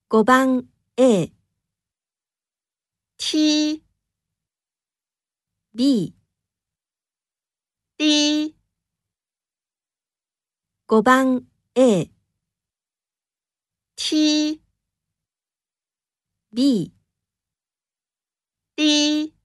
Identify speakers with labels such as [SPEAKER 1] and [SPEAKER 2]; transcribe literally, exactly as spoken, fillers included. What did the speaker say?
[SPEAKER 1] ごばん A、T、B、D、ごばん A、T、B、D、